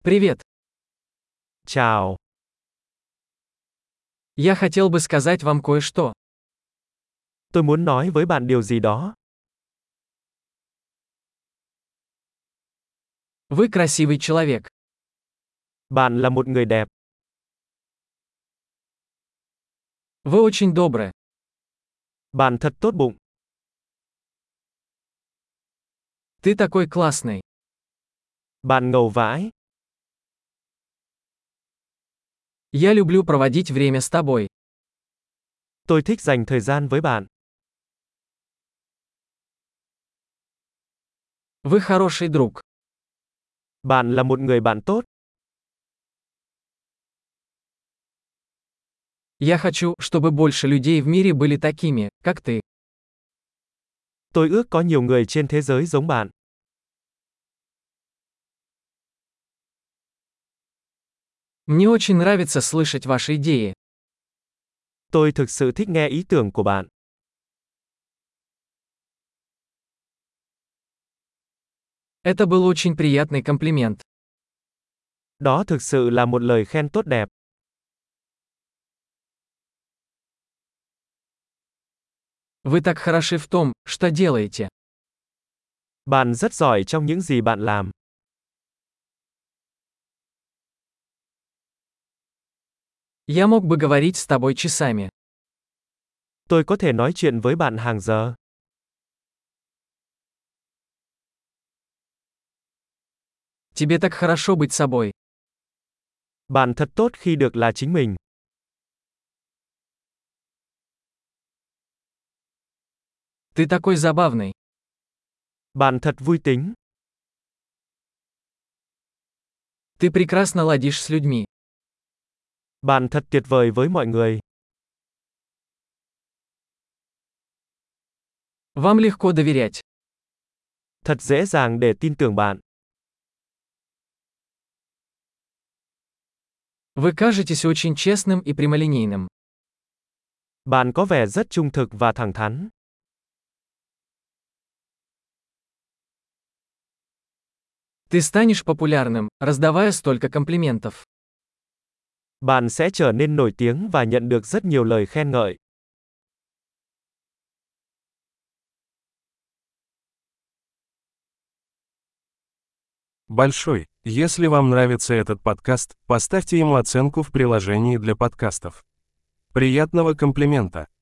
Привет. Chào, Я хотел бы сказать вам кое-что. tôi muốn nói với bạn điều gì đó. Вы красивый человек. Bạn là một người đẹp, Вы очень добры. bạn thật tốt bụng, Ты такой классный. bạn ngầu vãi. Я люблю проводить время с тобой. Tôi thích dành thời gian với bạn. Вы хороший друг. Bạn là một người bạn tốt. Я хочу, чтобы больше людей в мире были такими, как ты. Tôi ước có nhiều người trên thế giới giống bạn. Мне очень нравится слышать ваши идеи. Tôi thực sự thích nghe ý tưởng của bạn. Это был очень приятный комплимент. Đó thực sự là một lời khen tốt đẹp. Вы так хороши в том, что делаете. Bạn rất giỏi trong những gì bạn làm. Я мог бы говорить с тобой часами. Tôi có thể nói chuyện với bạn hàng giờ. Тебе так хорошо быть собой. Bạn thật tốt khi được là chính mình. Ты такой забавный. Bạn thật vui tính. Ты прекрасно ладишь с людьми. Bạn thật tuyệt vời với mọi người. Вам легко доверять. Thật dễ dàng để tin tưởng bạn. Вы кажетесь очень честным и прямолинейным. Bạn có vẻ rất trung thực và thẳng thắn. Ты станешь популярным, раздавая столько комплиментов. Bạn sẽ trở nên nổi tiếng và nhận được rất nhiều lời khen ngợi. Большой. Если вам нравится этот подкаст, поставьте ему оценку в приложении для подкастов. Приятного комплимента!